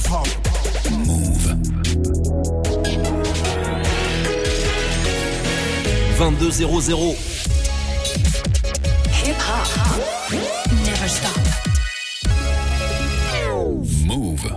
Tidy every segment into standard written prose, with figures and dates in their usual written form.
hip-hop. Move. 22:00. Hip-hop. Never stop. Move.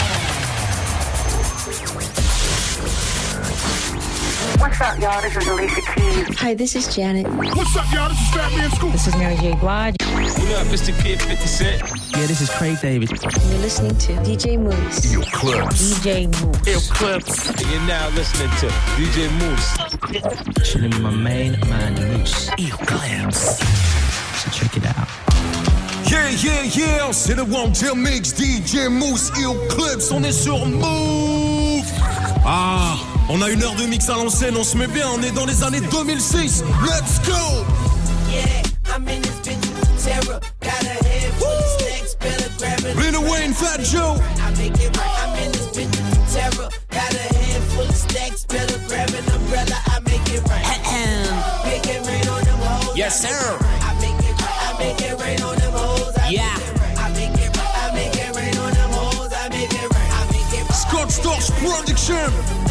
What's up, y'all? This is Alicia Keys. Hi, this is Janet. What's up, y'all? This is Fat Man Scoop. This is Mary J. Blige. What up, Mr. Kid 50 Cent? Yeah, this is Craig David. You're listening to DJ Moose. Eclipse. DJ Moose. Eclipse. You're now listening to DJ Moose. Chilling with my main man, Moose. Eclipse. So check it out. Yeah, c'est le One Tail Mix, DJ Moose, Eclipse, on est sur Move. Ah, on a une heure de mix à l'ancienne, on se met bien, on est dans les années 2006. Let's go. Yeah, I'm in this bitch, terror, got a head full of snakes, better grab it. Lil Wayne, Fat Joe. I make it right, I'm in this bitch, terror, got a head full of stacks, better grab an umbrella, I make it right. Make it rain on them hoes. Yes, sir. I make it rain on them hoes. Yeah. I make it rain on them hoes. I make it rain. I make it rain. Scott Storch Production.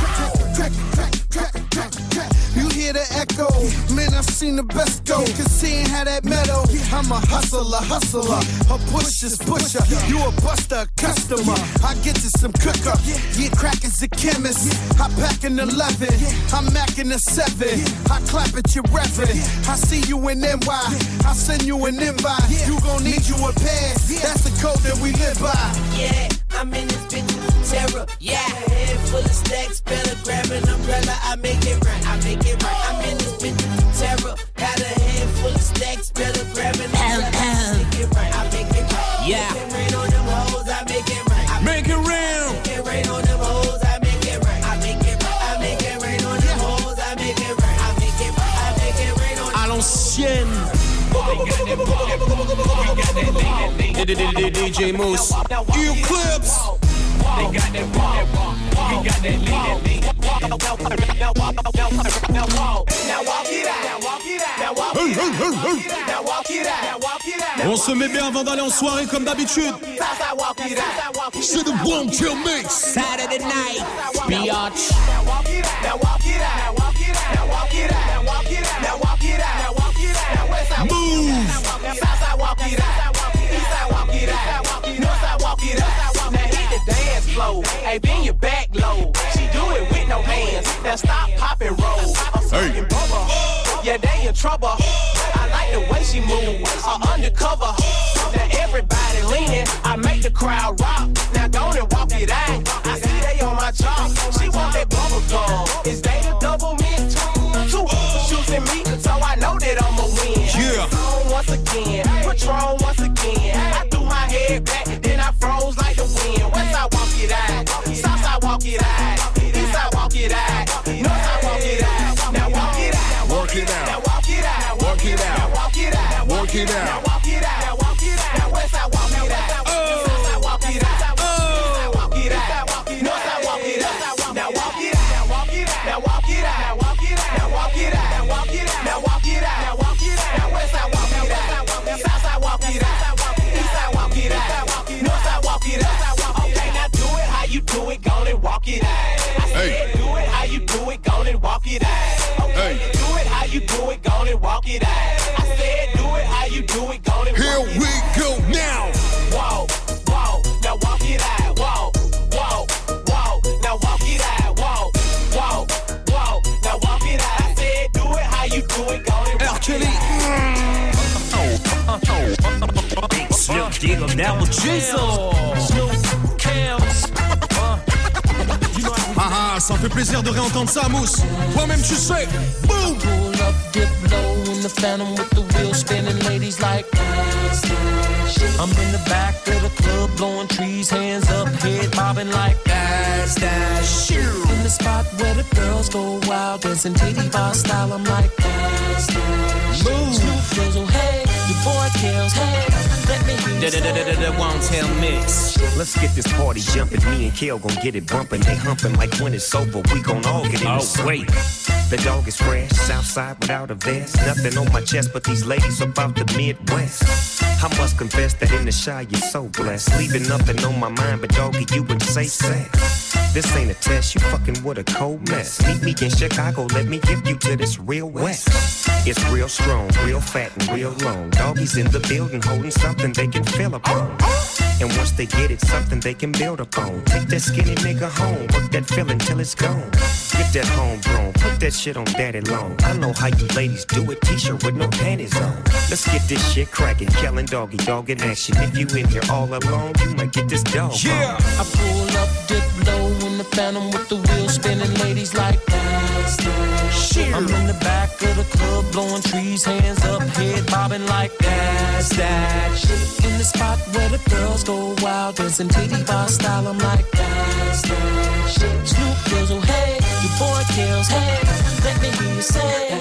You hear the echo, man, I've seen the best go. Cause seeing how that metal, I'm a hustler, a pusher's pusher. You a buster, customer. I get to some cooker, yeah, crack is a chemist. I pack an 11, I'm macking a 7. I clap at your reverend. I see you in NY, I send you an invite. You gon' need you a pass, that's the code that we live by. Yeah, I'm in this bitch, terror. Yeah, head full of stacks, better grab an umbrella. I make it right. I make it right. I'm in this bitch, terror. Got a head full of stacks, better grab an umbrella. I make it right. I make it right. Yeah. Make it rain on them hoes. I make it right. Make it rain. Make it rain on them hoes. I make it right. I make it right. I make it rain on them hoes. I make it right. I make it right. I make it rain on them À l'ancienne. DJ Moose. Eclipse. They got that walk. We got that lean. Now walk it out. Now walk it out. Now walk it out. Now walk it out. Now walk it out. On se met bien avant d'aller en soirée comme d'habitude. C'est le One Tail Mix. Saturday night, biatch. Now walk it out. Now walk it out. Now walk it out. Now walk it out. Now walk it out. Now walk it out. Now walk it out. Now west side Move. Southside walk it out. Eastside walk it out. Northside walk it out. Now hit the dance floor. Hey, bend your back low. She do it with no hands. Now stop, pop and roll. I'm smoking bubble. Yeah, they in trouble. I like the way she move. Undercover. Now everybody leaning. I make the crowd rock. Now go and walk it out. I see they on my job. She want that bubble gum. Is they the double mint? Two shooting me, so I know that I'ma win. Yeah. Patron once again, Patron once again. I threw my head back, then I froze like the wind. Westside walk it out, Southside walk it out, Eastside walk it out, Northside walk it out. Now walk it out, Work it out. now walk it out, Work it out. now walk it out, Work it now out. walk it out, now walk it out. Now Westside walk it out, Southside walk it out, Eastside walk it out, Northside walk it out. Now walk it out, now walk it out, now walk it out, now walk it out, now walk it out, now walk it out, now walk it out, now walk it out. Now Westside walk it out, Southside walk it out, Eastside walk it out, Northside walk it out. Okay, now do it how you do it, go and walk it out. I said do it how you do it, go and walk it out. Okay, do it how you do it, go and walk it out. I said do it how you do it, go and Here walk it out. we go now. Whoa, whoa, now walk it out. Whoa, whoa, whoa, now walk it out. Whoa, whoa, whoa, now walk it out. I said do it how you do it, go and R. walk Kelly. Snoop Diggle Double Jizzle. Snoop Kels. Ah, ça fait plaisir de réentendre ça, Mousse. Toi-même, tu sais. Boom. Pull up, dip low in the Phantom with the wheels spinning, ladies like I'm in the back of the club, blowing trees, hands up, head bobbing like that's that shit. In the spot where the girls go wild, dancing titty bar style, I'm like that's that shit. Snoop Dizzle, hey, your boy Kills, hey, let me hear you say The One Tail Mix. Let's get this party jumping. Me and Kel gon' get it bumping. They humping like when it's over. We gon' all get in the sun. Wait. The dog is fresh, Southside without a vest. Nothing on my chest, but these ladies about the Midwest. I must confess that in the shy you're so blessed. Leaving nothing on my mind, but doggy, you would say sex. This ain't a test, you fucking with a cold mess. Meet me in Chicago, let me give you to this real West. It's real strong, real fat and real long. Doggies in the building holding something they can feel upon. And once they get it, something they can build upon. Take that skinny nigga home, work that feeling till it's gone. Get that homegrown, put that shit on daddy long. I know how you ladies do it, t-shirt with no panties on. Let's get this shit cracking, Kellen doggy dog in action. If you in here all alone, you might get this dog. Yeah, I pull up, dip low in the Phantom with the wheels spinning, ladies like that. Shit. I'm in the back of the club, blowing trees, hands up, head bobbing like that. Shit. In the spot where the girls go wild, dancing titty bar style, I'm like that. Shit. Snoop Dizzle, hey, your boy kills, hey, let me hear you say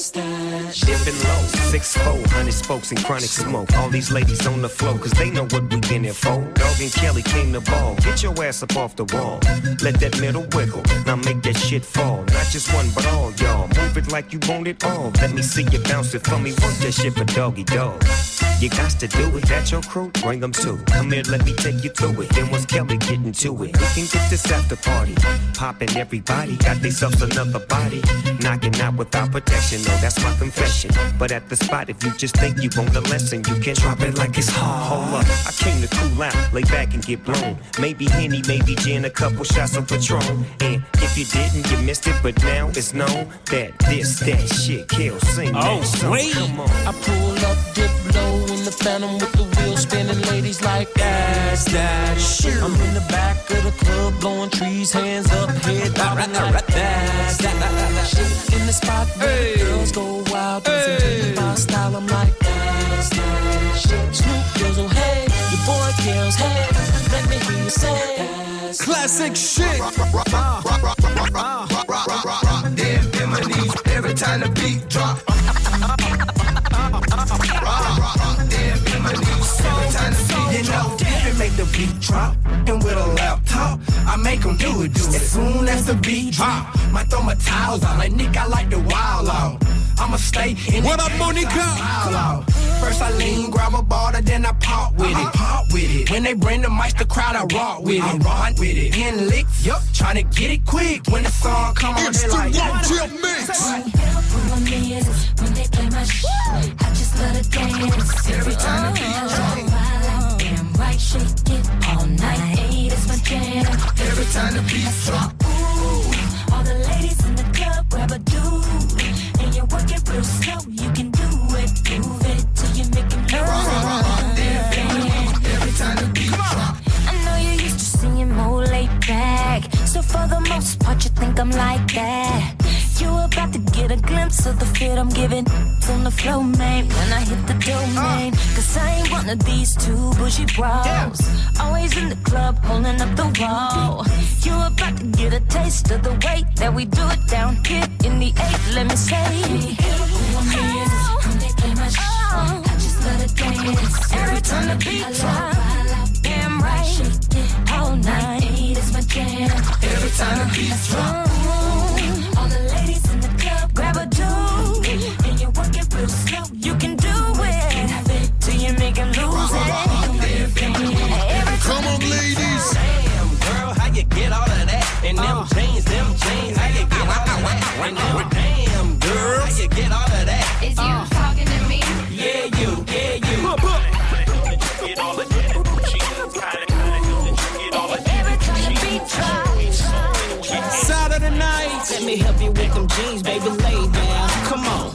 that. Dipping low, 6'4", 100 spokes and chronic smoke. All these ladies on the floor, cause they know what we been here for. Dog and Kelly came to ball, get your ass up off the wall. Let that middle wiggle, now make that shit fall. Not just one, but all y'all, move it like you want it all. Let me see you bounce it for me, work that shit for doggy dog. You got to do it, that's your crew, bring them too. Come here, let me take you through it, then once Kelly getting to it, we can get this after party. Poppin' everybody, got themselves another body. Knocking out without protection, no, that's my confession. But at the spot, if you just think you want the lesson, you can drop it like it's hard. Hold up, I came to cool out, lay back and get blown. Maybe Henny, maybe gin, a couple shots of Patron. And if you didn't, you missed it, but now it's known that this, that shit kills, sing that song. Wait. Come on. I pull up, dip low in the Phantom with the wheels spinning, ladies like that. Shit. I'm in the back of the club, blowing trees, hands up, head bobbing like that. Shit. In the spot where the girls go wild, dancing titty bar style, I'm like that. Shit. Snoop Dizzle, hey, your boy kills, hey, let me hear you say that. Classic shit. Them biminies, every time the beat drop. You know, David make the beat drop, and with a laptop, I make him do it. As soon as the beat drop, might throw my towels out. Like Nick, I like the wild out. I'ma stay in What up, Monica? First I lean, grab a ball, then I pop with it. When they bring the mic, the crowd, I rock with it. In licks, yup, tryna get it quick. When the song come on, It's they the like, One Chill Mix. When they play my shit, I just love to dance. every time the beat drop. Damn right, shake it all night. Hey, that's my jam. Every time the beat drop. Ooh, all the ladies in the club grab a dude, and you work it real slow. You can do it, move it till you make him lose it. Every time the beat drop. I know you're used to seeing more laid back, so for the most part you think I'm like that. You about to get a glimpse of the fit I'm giving on the flow, man, when I hit the domain. Cause I ain't one of these two bougie bros, always in the club holding up the wall. You about to get a taste of the way that we do it down here in the 8, let me say. When they play my shit, I just let it dance. Every time the beat drop, damn right, shake it all night. It's my jam. Every time the beat drop. All the ladies in the club grab a dude, and you work it real slow. You can do it till you make him lose it. Come on, ladies. Damn, girl, how you get all of that? And them chains, how you get all of that? And them damn, girl, how you get all of that? Is you talking to me? Yeah, you. Get all of that. Every time the beat drops. Saturday night, let me help you with them jeans, baby, lay down. Come on.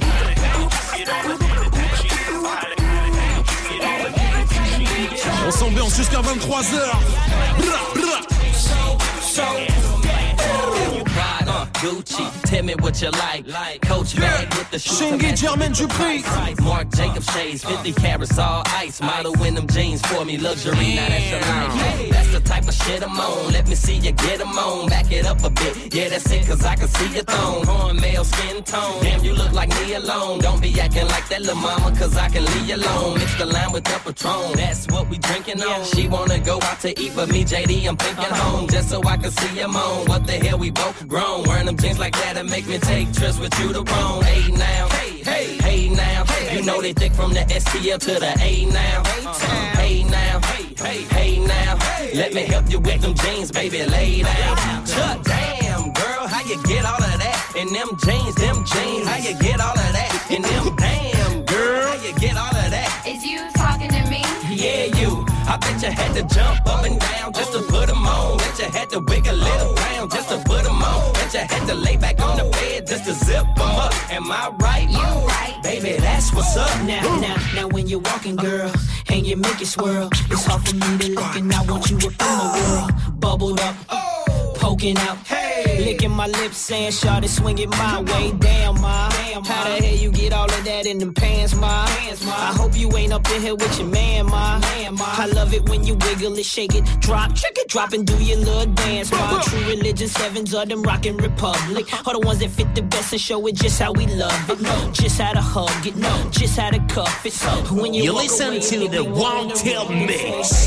On s'ambiance jusqu'à 23h. Gucci. Tell me what you like. Coach bag with the shoes. Shingy Jermaine Dupri. Mark Jacob shades, 50 carats all ice. Model in them jeans for me, luxury. Now that's your life. Hey, that's the type of shit I'm on. Let me see you get them on. Back it up a bit. Yeah, that's it, cause I can see your thong. Cornmeal skin tone. Damn, you look like me alone. Don't be acting like that little mama, cause I can leave you alone. Mix the lime with the Patron. That's what we drinking on. She wanna go out to eat, but me, JD, I'm thinking home. Just so I can see him on. What the hell, we both grown. Wearing them jeans like that and make me take trips with you to Rome. Hey now, hey now. You know they thick from the STL to the A now. Hey now, hey now. Let me help you with them jeans, baby, lay down. Damn, girl, how you get all of that? In them jeans, how you get all of that? In them damn, girl, how you get all of that? Is you talking to me? Yeah, you. I bet you had to jump up and down just to put them on. Bet you had to wiggle little round just to put them on. Bet you had to lay back on the bed just to zip them up. Am I right? You right. Baby, that's what's up. Now when you're walking, girl, and you make it swirl, it's hard for me to look and I want you up in my world. Bubbled up, poking out, licking my lips saying, shawty, swing it my way. Damn, ma, how the hell you get all of that in them pants, ma? I hope you ain't up in here with your man, ma. I love it when you wiggle it, shake it, drop, trick it, drop and do your little dance, ma. True religion, sevens of them rockin' republic. All the ones that fit the best and show it just how we love it. Just how to hug it, just how to cuff it. When you listen to the Wanted Mix.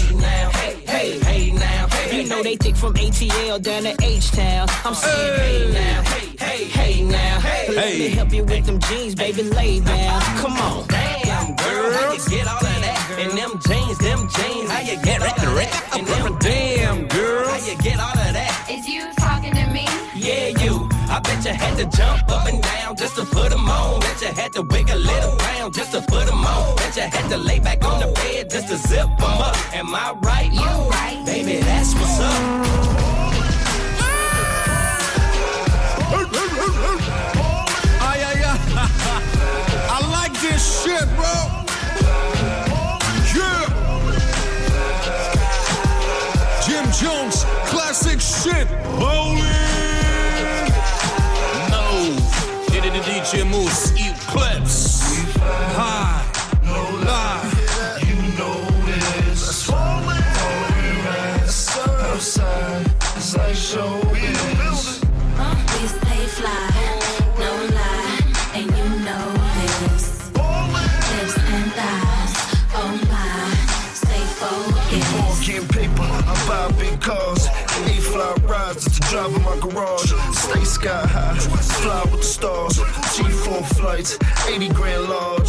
Hey now. You know they thick from ATL down to H-Town. I'm saying hey now. Let me help you with them jeans, baby, lay down. Come on. Damn, girl, how you get all of that? In them jeans, how you get all of that? In them damn, girl, how you get all of that? Is you talking to me? Yeah, you. I bet you had to jump up and down just to put them on. Bet you had to wiggle little round just to put them on. Bet you had to lay back on the bed just to zip them up. Am I right? You right. Baby, that's what's up. I like this shit, bro. Yeah. Jim Jones, classic shit. Bowling. No. DJ Moose, eat clips. High. No lie. You know this. Outside, it's like showbiz. We stay fly, no lie, and you know this. Lips and thighs, oh my, stay focused. Getting paper, I buy big cars. 8 fly rides, it's a drive in my garage. Stay sky high, fly with the stars. G4 flights, 80 grand large.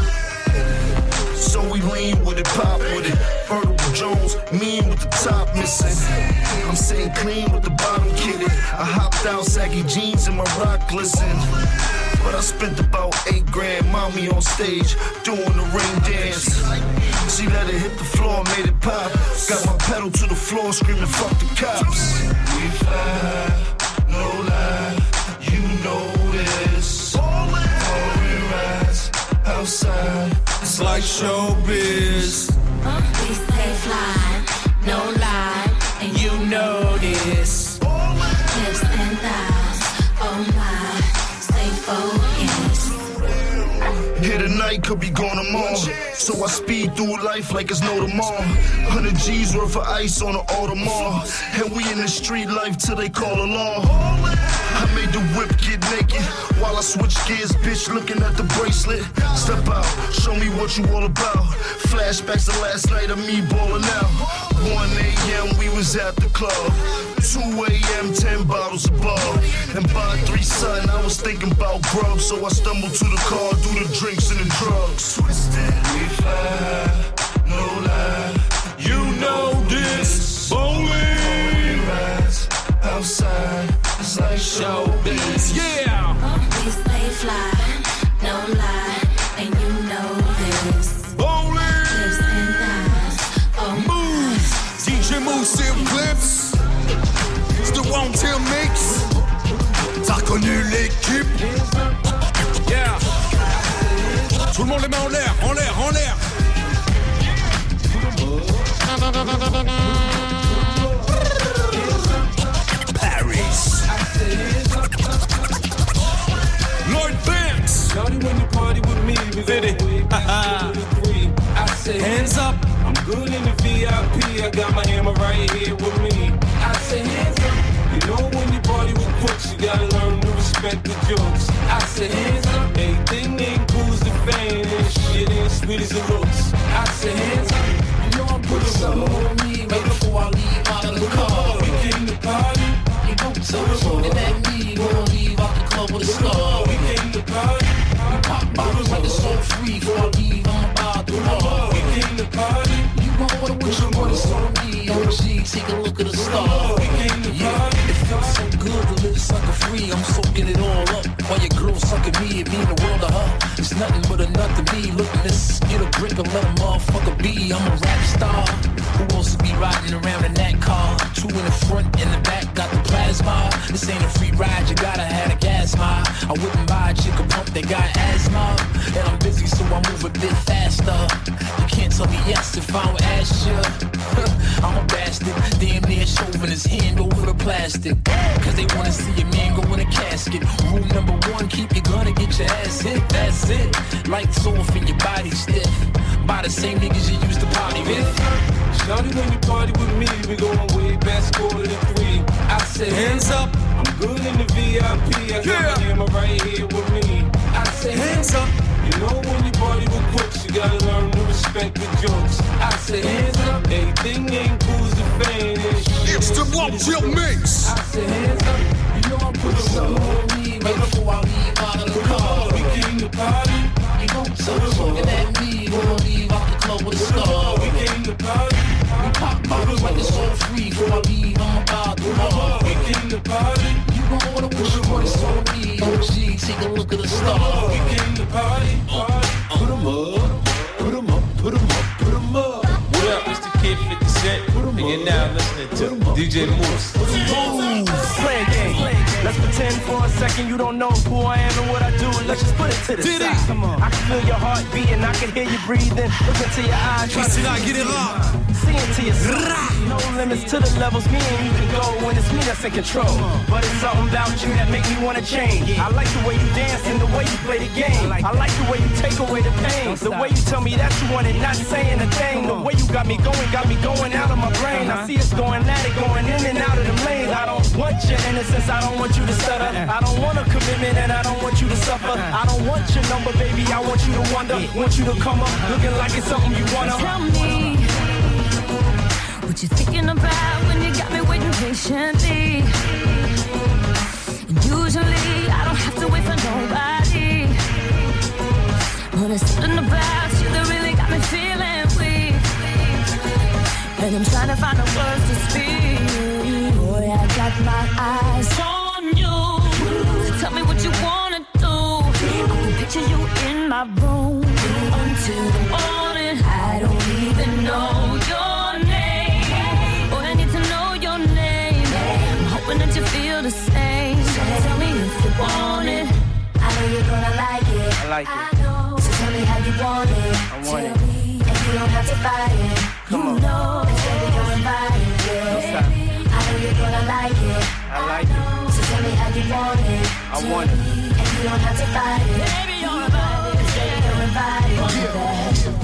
So we lean with it, pop with it. Vertical Jones, mean with the top missing. I'm sitting clean with the bottom kitted. I hopped out, saggy jeans and my rock glisten. But I spent about 8 grand, mommy on stage, doing the rain dance. She let it hit the floor, made it pop. Got my pedal to the floor, screaming, fuck the cops. We fly, no lie, you know this. Foreign rides, outside, it's like showbiz. We stay fly, no lie, and you know this. Lips and thighs, oh my, stay focused. Here tonight, could be gone tomorrow. So I speed through life like it's no tomorrow. 100 G's worth of ice on the Audemars. And we in the street life till they call the law. I made the whip get naked while I switch gears, bitch, looking at the bracelet. Step out, show me what you all about. Flashbacks to last night of me balling out. 1 a.m. we was at the club. 2 a.m. 10 bottles above. And by 3 something I was thinking about grub. So I stumbled to the car, do the drinks and the drugs. Twisted, we fly, no lie. You know this. Bowling. Rides outside, it's like showbiz. Yeah. We stay fly, no lie, and you know this. Bowling. Lips and thighs, oh Move. DJ Moose et Clips. C'est the Wanted Mix. T'as reconnu l'équipe? Yeah. Tout le monde les mains en l'air, en l'air, en l'air. Paris. good in the VIP. I got my hammer right here with me. I say hands up. You know when you party with crooks, you gotta learn to respect the jokes. I say hands up. Everything ain't cool as the fame, and shit ain't sweet as it looks. I say hands up. You know I'm putting something on me right before I leave out of the car. We came to party. You don't tell us looking at me. We don't leave out the club with a scar. We came to party. We pop bottles like it's so free. Before I leave, I'm about to bar. We came to party. You want what I wish you would have saw me. OG, take a look at the star. We came to party. It feels so good to live sucker free. I'm soaking it all up. While your girl sucking me, it mean the world to her. It's nothing but a nut to me. Look at this, get a grip and let a motherfucker be. I'm a rap star. Who wants to be riding around in that car? Two in the front, in the back, got the plasma. This ain't a free ride, you gotta have a gas mile. I wouldn't buy a chick a pump that got asthma. And I'm busy, so I move a bit faster. You can't tell me yes if I don't ask you. I'm a bastard, damn near shoving his hand over the plastic. Cause they wanna see a man go in a casket. Rule number one, keep your gun and get your ass hit. That's it. Lights off and your body stiff. By the same niggas you used to party with. Shawty, when you party with me, we going way back, scorer than 3. I say hands up. I'm good in the VIP. I got my hammer right here with me. I say hands up. You know when you party with crooks, you gotta learn to respect the jokes. I say hands up. Everything ain't cool as the fame. It's the Won't Chill Mix. I say hands up. You know I'm putting something on me right before I leave out of the car. We came to party. You don't tell us looking at me. We don't leave out the club with a star. We came to party. We pop bottles like it's all free. Before I leave, I'm about to bar. We came to party. You gon' wanna wish you would have saw me. OG, take a look at the star. We came to party. Put 'em up, put 'em up, put 'em up, put 'em up. What up, Mr. Kid 50 Cent? And you're now listening to DJ Moose. Play a game. Let's pretend for a second you don't know who I am and what I do. Let's just put it to the side. Come on. I can feel your heart beating. I can hear you breathing. Look into your eyes. Christina Aguilera. See into your soul. No limits to the levels me and you can go when it's me that's in control. But it's something about you that make me wanna change. I like the way you dance and the way you play the game. I like the way you take away the pain. The way you tell me that you want it, not saying a thing. The way you got me going out of my brain. I see us going at it, going in and out of the lanes. I don't want your innocence, I don't want you to stutter. I don't want a commitment and I don't want you to suffer. I don't want your number, baby, I want you to wonder. Want you to come up looking like it's something you wanna. Tell me what you thinking about when you got me waiting patiently. And usually I don't have to wait for nobody, but there's something about you that really got me feeling weak. And I'm trying to find the words to speak. Boy, I got my eyes on you. So tell me what you wanna do. I can picture you in my room until the morning. I don't even know your name. Boy, I need to know your name. I'm hoping that you feel the same. So tell me if you want it. I know you're gonna like it. I like it. I know. So tell me how you want it. I want tell it. me, and you don't have to fight it. Come on. Know, and baby, you're invited. Yeah. I know you're gonna like it. I like it. So tell me how you want it. I want it. And you don't have to fight it. Baby, you're invited. Baby, you're invited.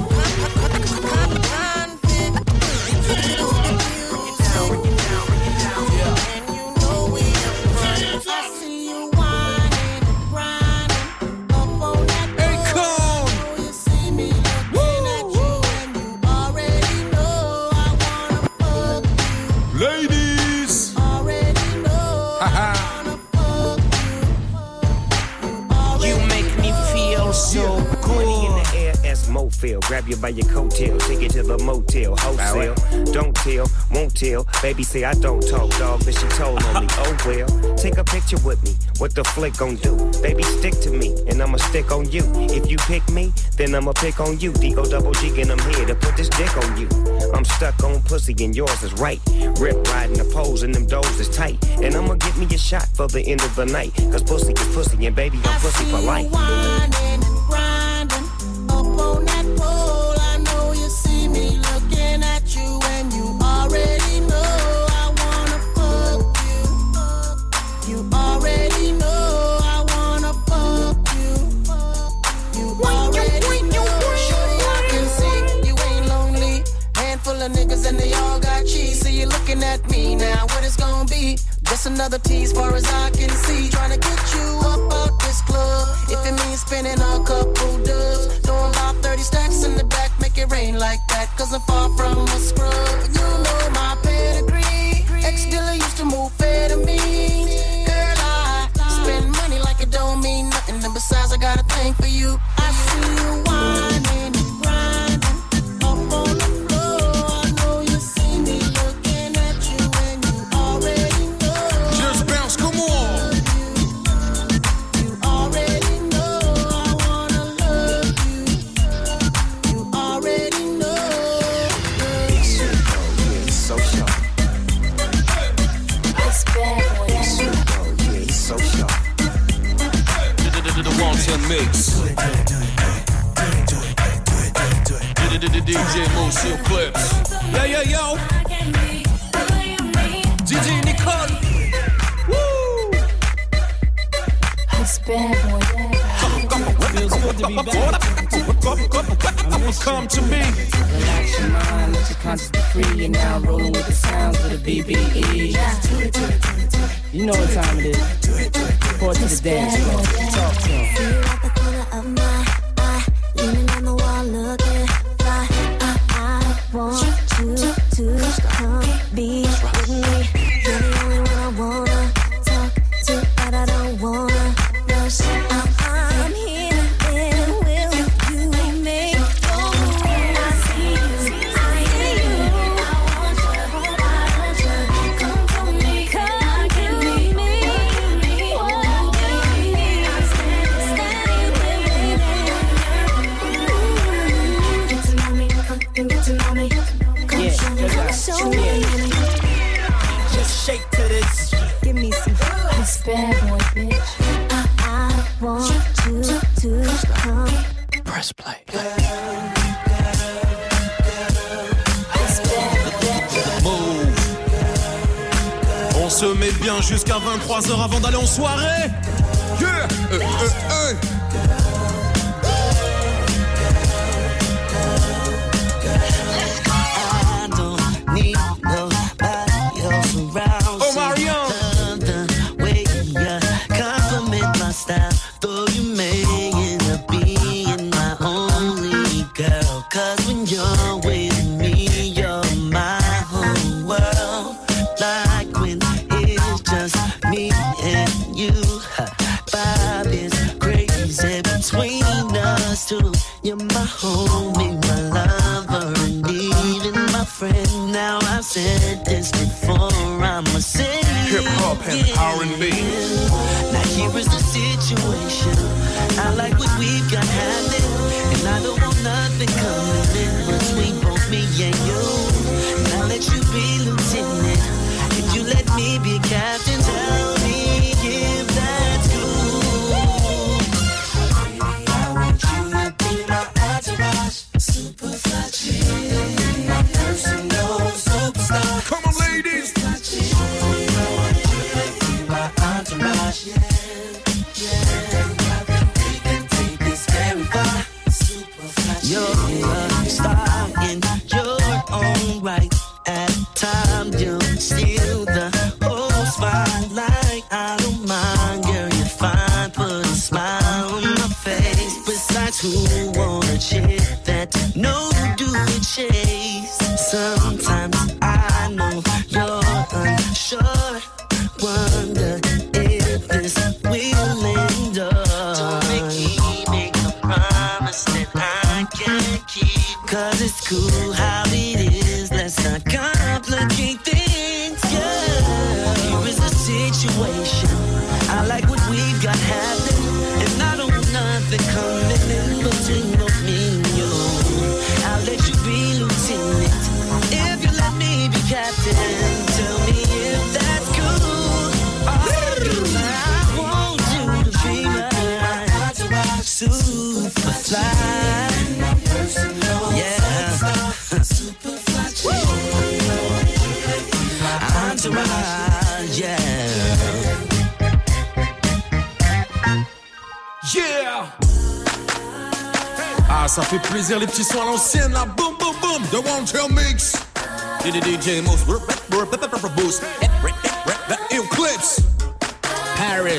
Ladies! You make me feel so money in the air as Mofil. Grab you by your coattail, take it to the motel, wholesale. Don't tell, won't tell. Baby say I don't talk, dog, but she told on me. Oh well, take a picture with me. What the flick gon' do? Baby, stick to me, and I'ma stick on you. If you pick me, then I'ma pick on you. D-O double G, and I'm here to put this dick on you. I'm stuck on pussy, and yours is right. Rip riding the poles, and them doors is tight. And I'ma get me a shot for the end of the night. Cause pussy is pussy, and baby, I'm pussy for life. Grinding up on that pole. I know you see me looking at you, and you already know I wanna fuck you. You already know I wanna fuck you. You already know. I can see you ain't lonely. gon' be just another tease far as I can see. Trying to get you up out this club. If it means spending a couple dubs, throwing about 30 stacks in the back, make it rain like that. Cause I'm far from a scrub. You know my pedigree. Ex-dealer used to move amphetamines. Girl, I spend money like it don't mean nothing. And besides, I got a thing for you. I see you whining and grinding up on the floor. I know you see me looking at you and you already know. Just bounce, come on. You already know I wanna love you. You already know. He's so sharp. It's bad boy. He's so sharp. The Won't Mix. DJ Moose Clips. Yo. DJ Nicole. Woo! It's bad boy. Feels good to be back. Come to me. Relax your mind, let your conscience be free. You're now rolling with the sounds of the BBE. You know what time it is. Report to the dance floor. Talk to him. See you at the corner of my eye, leaning on the wall, looking fly. I want you to come be with me. You're the only one I wanna talk to, but I don't wanna rush. I'm here, and will you make your move? I see you, I hear you. I want you, come for me, come give me. I'm standing with me. Get to know me, come get to know me. Come show me. Just shake to this. Give me some. This bad boy, bitch. I want you to come. Press play. Move. On se met bien jusqu'à 23h avant d'aller en soirée. Yeah. I don't need nobody else around. Oh, Marion. Love the way you compliment my style, though you may end up being my only girl. Cause when you're with me, you're my whole world. Like when it's just me and you. Vibe is crazy between us two. You're my homie, my lover, and even my friend. Now I've said this before, I'ma say Hip hop and R&B. now here is the situation. I like what we've got happening, and I don't want nothing coming in between both me and you. And I'll let you be lieutenant, if you let me be captain. Tell me if that's cool. I want you to be my entourage, super fly chick, my personal superstar. Come on, ladies. My entourage, we can take this very far. You're a star in your own right. At times you're still the whole spotlight. I don't mind, girl, you're fine. Put a smile on my face. Besides, who want a chick that no do it chase? Sometimes I know you're unsure. Wonder if this will endure. Don't make me make a promise that I can't keep. Cause it's cool how it is. Let's not complicate things, yeah. Here is the situation. I like what we've got happening, and I don't want nothing coming in between both me and you. I'll let you be lieutenant, if you let me be captain. Tell me if that's cool. I want you to be my super fly. Yeah. Super fly. Entourage, yeah. Yeah. Ah, ça fait plaisir les petits sons à l'ancienne là. Boom, boom, boom. The Won't Mix. DJ Moose. Boost.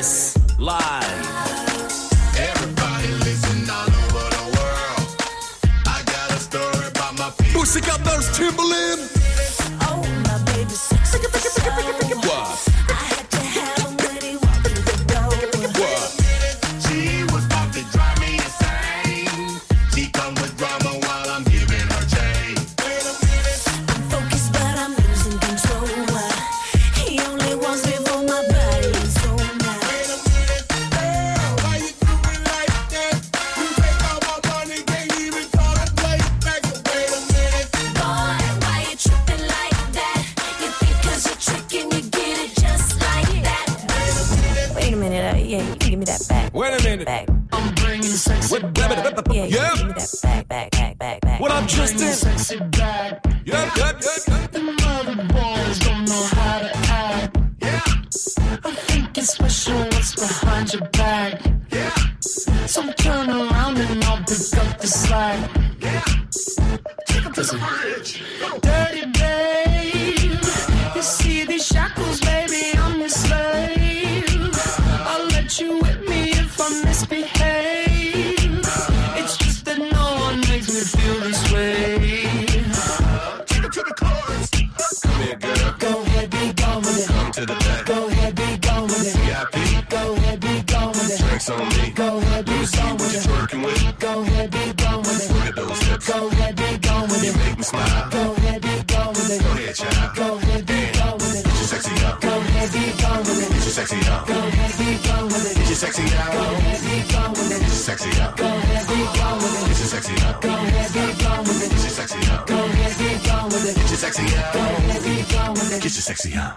Yes, live. Everybody listen all over the world. I got a story about my people. Pussycat Dolls, Timbaland. Oh, my baby's sexy. What? I had to have him when he walked through the door. What? She was about to drive me insane. She comes with drama while I'm giving her chain. I'm focused, but I'm losing control. He only wants me for my body and soul now. Why you do it like that? You take all my money, can't even call a plate back. Wait a minute. Boy, why you tripping like that? You think 'cause you're tricking, you get it just like that. Wait a minute, yeah, you can give me that back. Wait a minute. Back. I'm bringing sexy back. Yeah, you can give me that back. What up, Justin? Sexy back. Yep. The mother boys don't know how to act. I think it's special what's behind your back. So turn around and I'll pick up the slack. Take up this bridge. Dirty babe. You see these shackles, baby, I'm your slave. I'll let you whip me if I misbehave. It's just that no one makes me feel this way. Take it to the chorus. Come here, girl. Go ahead, be gone with it. Come to the back. Go ahead, be gone with it. VIP. Go ahead, be gone with it. Drinks on me. Go ahead, be Let me see gone what with you're it. twerking with. Go ahead, be gone with it. Look at those hips. Go ahead, be gone with You it. make me smile. Go ahead, be gone with it. Go ahead, child. Go ahead, be gone with it. Get your sexy out. Go ahead, be gone with it. Get your sexy out. Go ahead, be gone with it. Get your sexy out. Go ahead, be gone with it. Get your sexy out. Go ahead, be gone with it. Get your sexy out. Go ahead, be gone with it. Get your sexy out. Go ahead, be gone with it. Get your sexy out. Go ahead, be gone with it. Get your sexy out.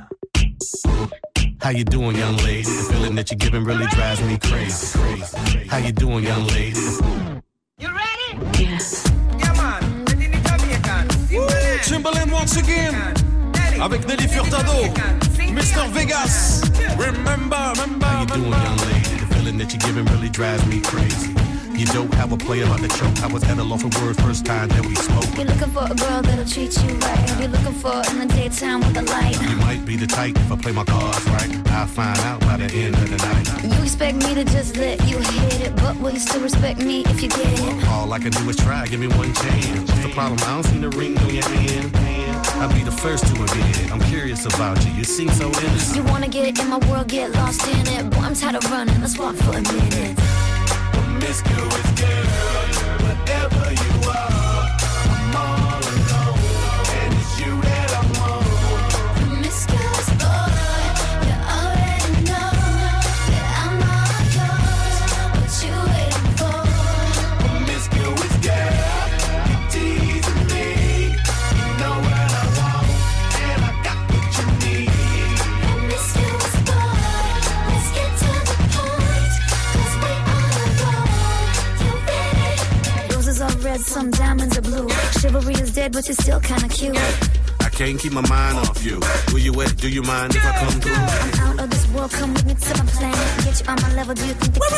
How you doing, young lady? The feeling that you're giving really drives me crazy. How you doing, young lady? You ready? Yes. Yeah, man. Ready to Jamaican. Timbaland once again. Avec Nelly Furtado. Mr. Vegas. Remember. How you doing, young lady? The feeling that you're giving really drives me crazy. You don't have a play about the choke. I was at a loss of words first time that we spoke. You're looking for a girl that'll treat you right. You're looking for in the daytime with the light. You might be the type if I play my cards right. I'll find out by the end of the night. You expect me to just let you hit it, but will you still respect me if you get it? All I can do is try, give me one chance. What's the problem? I don't see the ring on your hand. I'll be the first to admit it. I'm curious about you. You seem so innocent. You wanna get in my world, get lost in it. Boy, I'm tired of running. Let's walk for a minute. Promiscuous girl, whatever you are, I'm all alone, and it's you that I want. Promiscuous boy, you already know that I'm all yours. What you waiting for? Promiscuous girl, you teasing me. You know what I want, and I got what you need. Promiscuous boy, let's get to the point, 'cause we all alone. You ready? Roses are red, some diamonds are blue. Chivalry is dead, but you're still kinda cute. I can't keep my mind off you. Where you at? Do you mind if I come through? I'm out of this world, come with me to my planet. Get you on my level, do you think that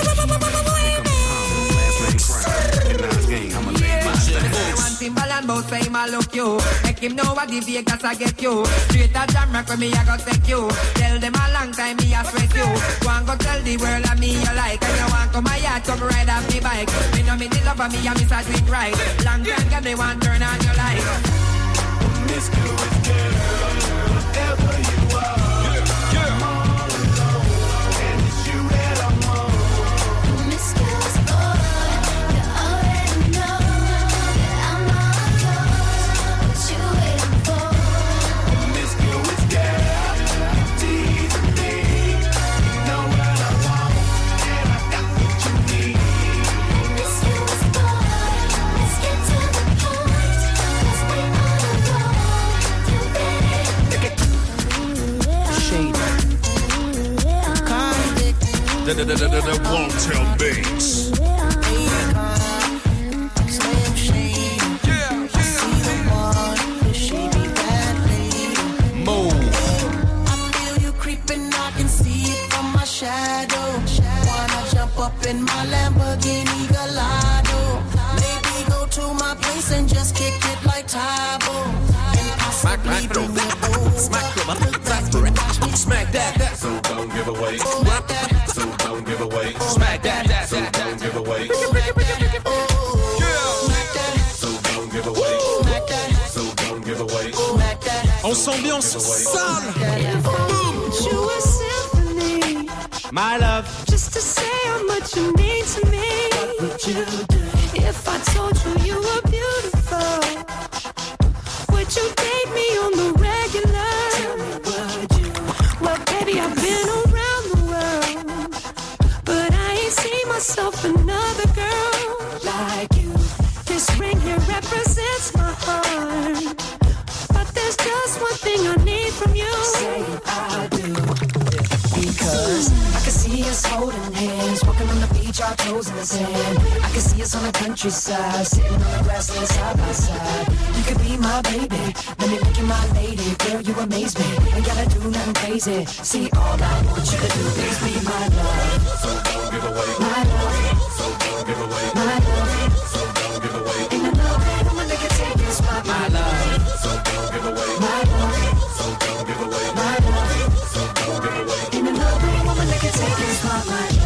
Timbaland bout say I look you. Make him know what the Vegas I get you. Straight a jam rock with me I go take you. Tell them a long time me I sweat you. Go and go tell the world of me you like. And you want come my yard, come ride off the bike. Me know me the love of me and me start with right. Long time girl they want turn on your light. Promiscuous girl, whatever you are, I'm all alone, and it's you that I want. Promiscuous boy, you already know that I'm all yours. What you waiting for? Promiscuous girl, you teasing me. You know what I want, and I got what you need. Promiscuous boy, let's get to the point, 'cause we all alone. You ready? Shade. The Won't Tell Mix. Up in my Lamborghini Gallardo. Maybe go to my place and just kick it like Tybo. And possibly bring it over. Smack that. So don't give away. Sale. You a symphony, My love. just to say how much you mean to me. What would you do if I told you you were beautiful? Would you date me on the regular? Tell me, would you? Well, baby, I've been around the world, but I ain't seen myself another girl like you. This ring here represents my heart, but there's just one thing I need from you. Say I do. Because I can see us holding hands, walking on the beach, our toes in the sand. I can see us on the countryside, sitting on the grassland side by side. You could be my baby, let me make you my lady. Girl, you amaze me, ain't gotta do nothing crazy. See, all I want you to do is be my love. So don't give away my love. So don't give away my love. So don't give away. Ain't another woman that can take this spot, my love. So don't give away my love. So don't give away my love. So don't give away. Ain't another woman that can take this spot, my love.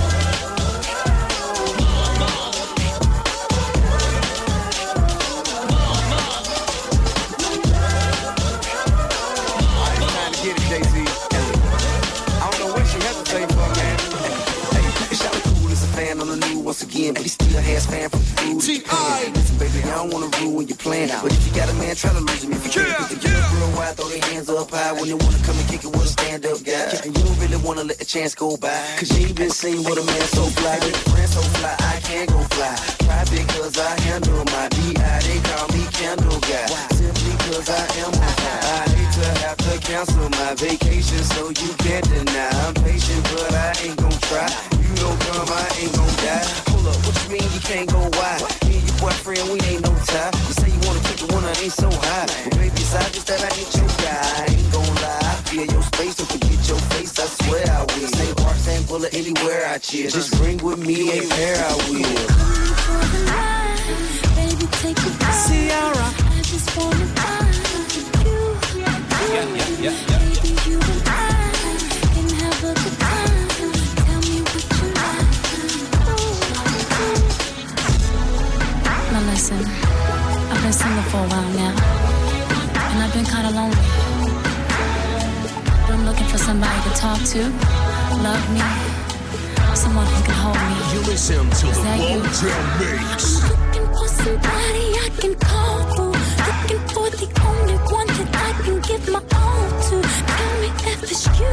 Get it, Jay-Z. I don't know what she hesitating for, man. Hey, it's y'all cool as a fan on the news once again, but he still has fan from the food. Listen, baby, I don't wanna ruin your plan, but if you got a man, try to lose him. If you can't get the girl real wide, throw their hands up high when they wanna come and kick it with a stand-up guy. And you don't really wanna let the chance go by, cause you ain't been seen with a man so fly. With a friend so fly, I can't go fly. Try because I handle my B.I. They call me Candle Guy. Simply cause I am on fire. I hate to have to cancel my vacation, so you can't deny. I'm patient, but I ain't gon' try. You don't come, I ain't gon' die. Hold up, what you mean you can't go wide? Me and your boyfriend, we ain't no tie. You say you wanna keep the one that ain't so high. But baby, it's obvious that I ain't your guy. I ain't gon' lie. I feel your space, don't forget your face, I swear I will. Same park, same bullet, anywhere I cheer. Just bring with me a pair, I will. Baby, take it back. Ciara, I just wanna find you. Yeah. Baby, you and I can have a good time. Tell me what you like. Now listen, I've been single for a while now, and I've been kind of lonely. But I'm looking for somebody to talk to, love me, someone who can hold me. You listen to Is the that you? Won't Mix. Looking for somebody I can call for. Looking for the only one that I can give my all to. Tell me if it's you.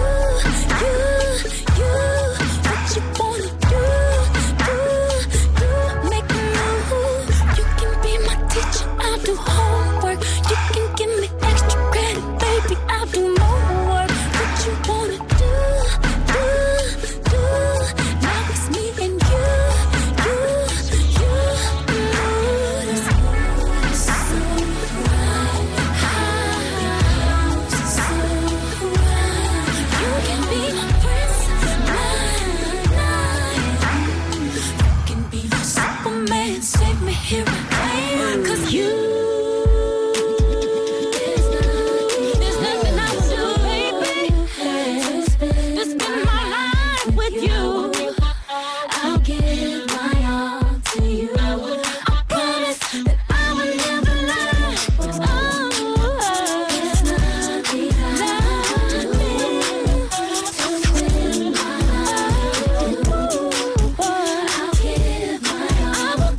What you wanna do? Make a move. You can be my teacher, I'll do homework. You can give me extra credit, baby, I'll do more work. What you wanna do? Now it's me and you. Save me here and cause you. There's nothing I would do, baby. To spend my life with you. I'll give my all to you. I promise that I will never lie. There's nothing I would do to spend my life with you. I'll give my all.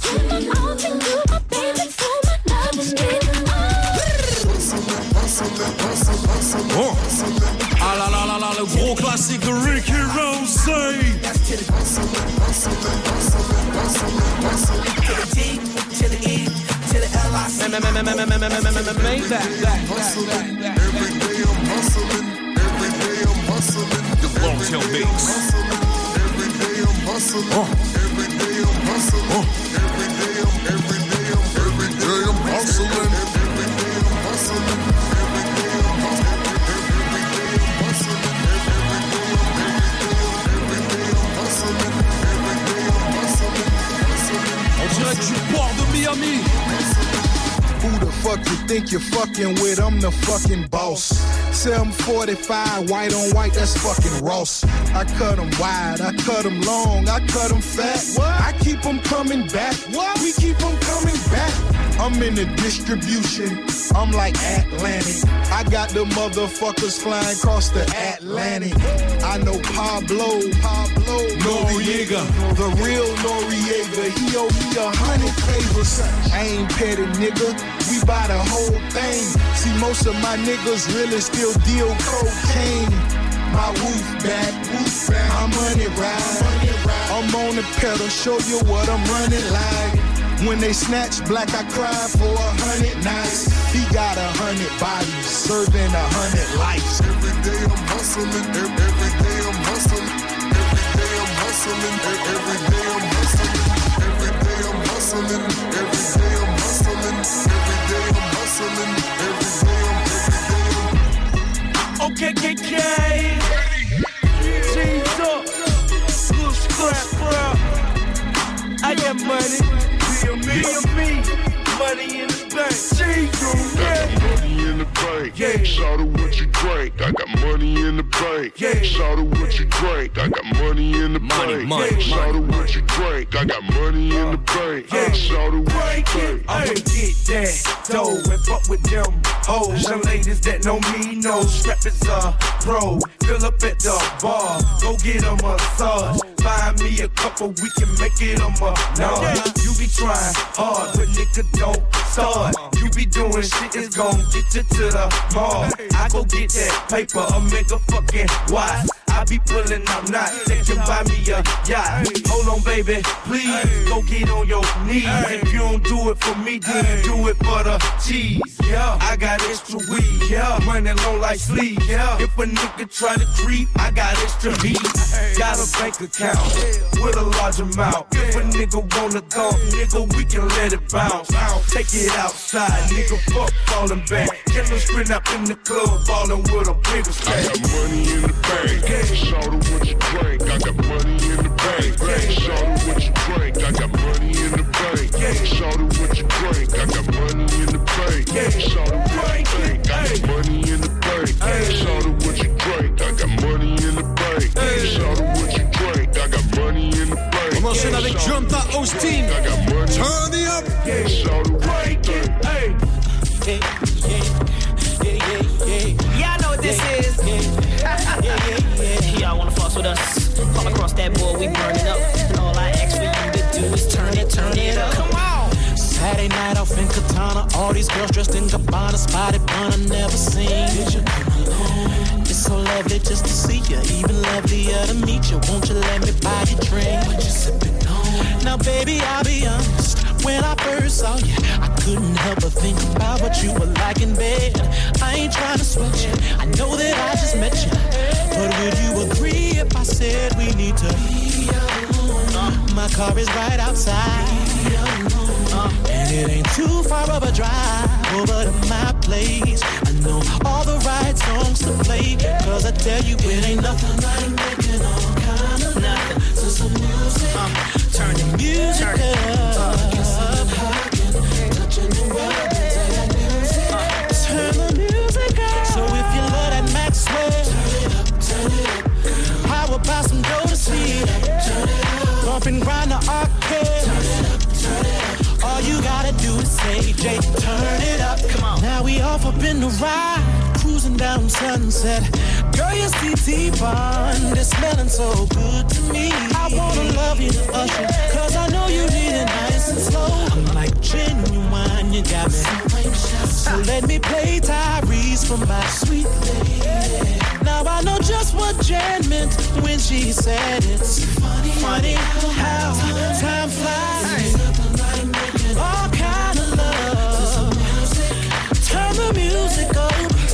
Oh. Ah là là là là, le gros classique de Ricky Rose. The Won't Mix. Oh. On dirait du port de Miami. Who the fuck you think you're fucking with? I'm the fucking boss. 745, white on white, that's fucking Ross. I cut them wide, I cut them long, I cut them fat. I keep them coming back. We keep them coming back. I'm in the distribution. I'm like Atlantic. I got the motherfuckers flying across the Atlantic. I know Pablo Noriega, the real Noriega. He owe me 100 favors. I ain't petty, nigga. We buy the whole thing. See, most of my niggas really still deal cocaine. My woof back, I'm running right. I'm on the pedal, show you what I'm running like. When they snatch black, I cry for 100 nights. He got 100 bodies, serving 100 lives. Every day I'm hustling, every day I'm hustling. Every day I'm hustling, every day I'm hustling. Every day I'm hustling, every day I'm hustling. Every day I'm hustling, every day I'm Okay, G's up, little scrap, bro. I got money, me, money in the bank. G's money in the bank. Yeah. Shout out what you drink. I got money in the bank. Yeah. Shout out what you drink. I got money in the bank. Shout out what you drink. I got money in the bank. Shout out what you drink. I'ma get that dough and fuck with them hoes. Young ladies that know me know strap is a pro. Fill up at the bar, go get a massage. Find me a couple, we can make it a massage. You be trying hard, but nigga don't start. You be doing shit that's gon' get you to the mall. I go get that paper, a mega fucking watch. I be pulling up knots that can buy me a yacht. Hold on, baby, please go get on your knees. If you don't do it for me, then do it for the cheese. Yeah, I got extra weed. Yeah, money long like sleep. Yeah, if a nigga try to creep, I got extra heat. Got a bank account with a large amount. If a nigga wanna go, nigga, we can let it bounce. Take it outside, nigga, fuck falling back. Get no sprint up in the club, ballin' with a bigger stack. I got money in the bank. Shout out what you drink. I got money in the bank. Shout out what you drink. I got money in the bank. Shout out what you drink. I got money in the bank. Shout out what you drink. I got money in the bank. Shout out what you drink. I got money in the bank. Shout out what you drink. I got money in the bank. On enchaîne avec Jonta Austin. Turn it up. Shout out what you drink. Yeah, I know what this is. Y'all wanna fuss with us? Call across that board, we burning up. And all I ask for you to do is turn it up. Come on! Saturday night off in Katana, all these girls dressed in Gabbana, spotted bun I never seen. Did you come along? It's so lovely just to see you, even lovelier to meet you. Won't you let me buy you a drink? What you sipping on? Now baby, I'll be honest. When I first saw you, I couldn't help but think about what you were like in bed. I ain't trying to sweat you, I know that I just met you. But would you agree if I said we need to be alone? My car is right outside, and it ain't too far of a drive over to my place. I know all the right songs to play, cause I tell you it ain't nothing like making all kind of nothing. So some music, turn the music up. Touching the world, turn the music up. So if you love that Maxwell, turn it up. How about some Jodeci? Bump and grind the arcade. All you gotta do is say, Jay, turn it up. Come on. Now we off up in the ride, cruising down Sunset. Girl, your CT bond is smelling so good to me. I wanna love you to usher, cause I know you need it nice and slow. I'm like genuine, you got me so let me play Tyrese for my sweet lady. Now I know just what Jan meant when she said it's funny how time flies. All kind of love. Turn the music up.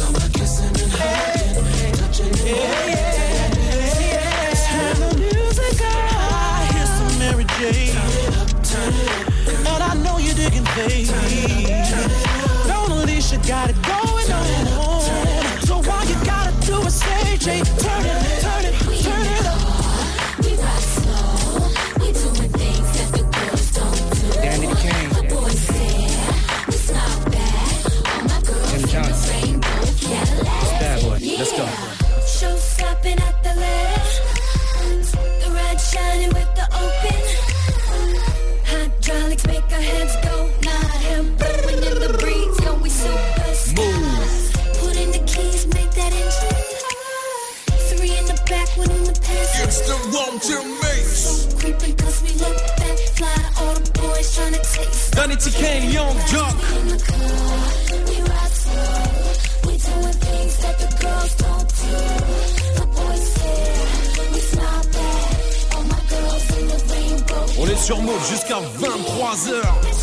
Turn the music up. I hear some Mary J. And I know you're digging, baby. Don't Alicia got it going on. So all you gotta do is say, Jay, turn it up. We rock slow. We doing things that the girls don't do. Danny the King. All my boys say we smile back. All my girls in the rainbow Cadillac. Bad boy. Yeah. Let's go. Show stopping at the left. The red shining with the open. Hydraulics make our heads go not him. One Till Mix. Creeping 'cause we look that fly. All the boys tryna taste. Danny TK, Young Jock. We ride slow. We doing things that the girls don't do. The boys stare. We smile back. All my girls in the rainbow. On est sur Move jusqu'à 23h.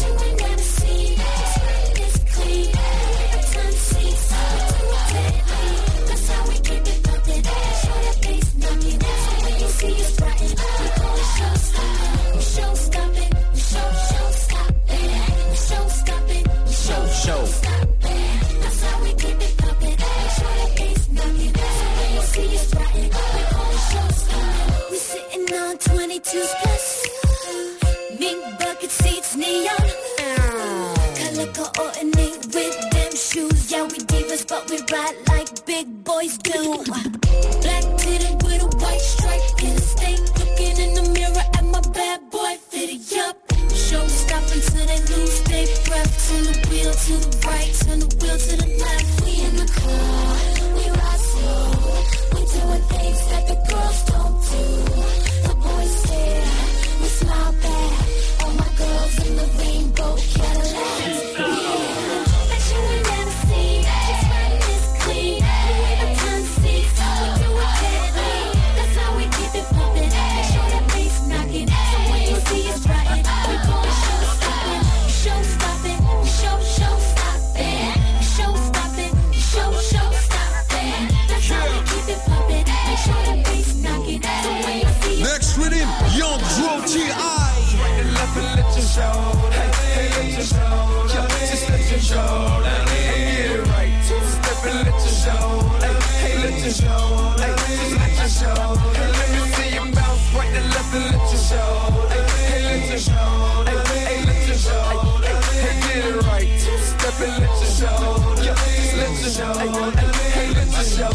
We sitting on 22 plus. Big bucket seats, neon. Color coordinate with them shoes. Yeah, we divas, but we ride like big boys do. Black titted with a white stripe in the state. Looking in the mirror at my bad boy fitted up. Show stop until they lose their breath. Turn the wheel to the right, turn the wheel to the left. We in the car, we ride slow. We doing things that the girls don't do. The boys stare, we smile back. All my girls in the rainbow Cadillacs. Bet you ain't never seen. Just riding this clean. Louis Vuitton seats, we do it deadly. That's how we keep it pumping. Make sure that bass knocking. So when you see us riding, we gon' show stopping. Show stopping. Show stopping. Show stopping. Show stopping. That's how we keep it pumping. Make sure that bass knocking. So when you see us Next rhythm, Young Dro T.I. Left and let you show. Hey, let you show. Just let you show. Get it right. Two-step and let you show. Hey, let you show. Just let you show. Let me see you bounce right and left and let you show. Hey, let you show. Hey, let you show. Hey, get it right. Two-step and let you show. Just let you show. Hey, let you show.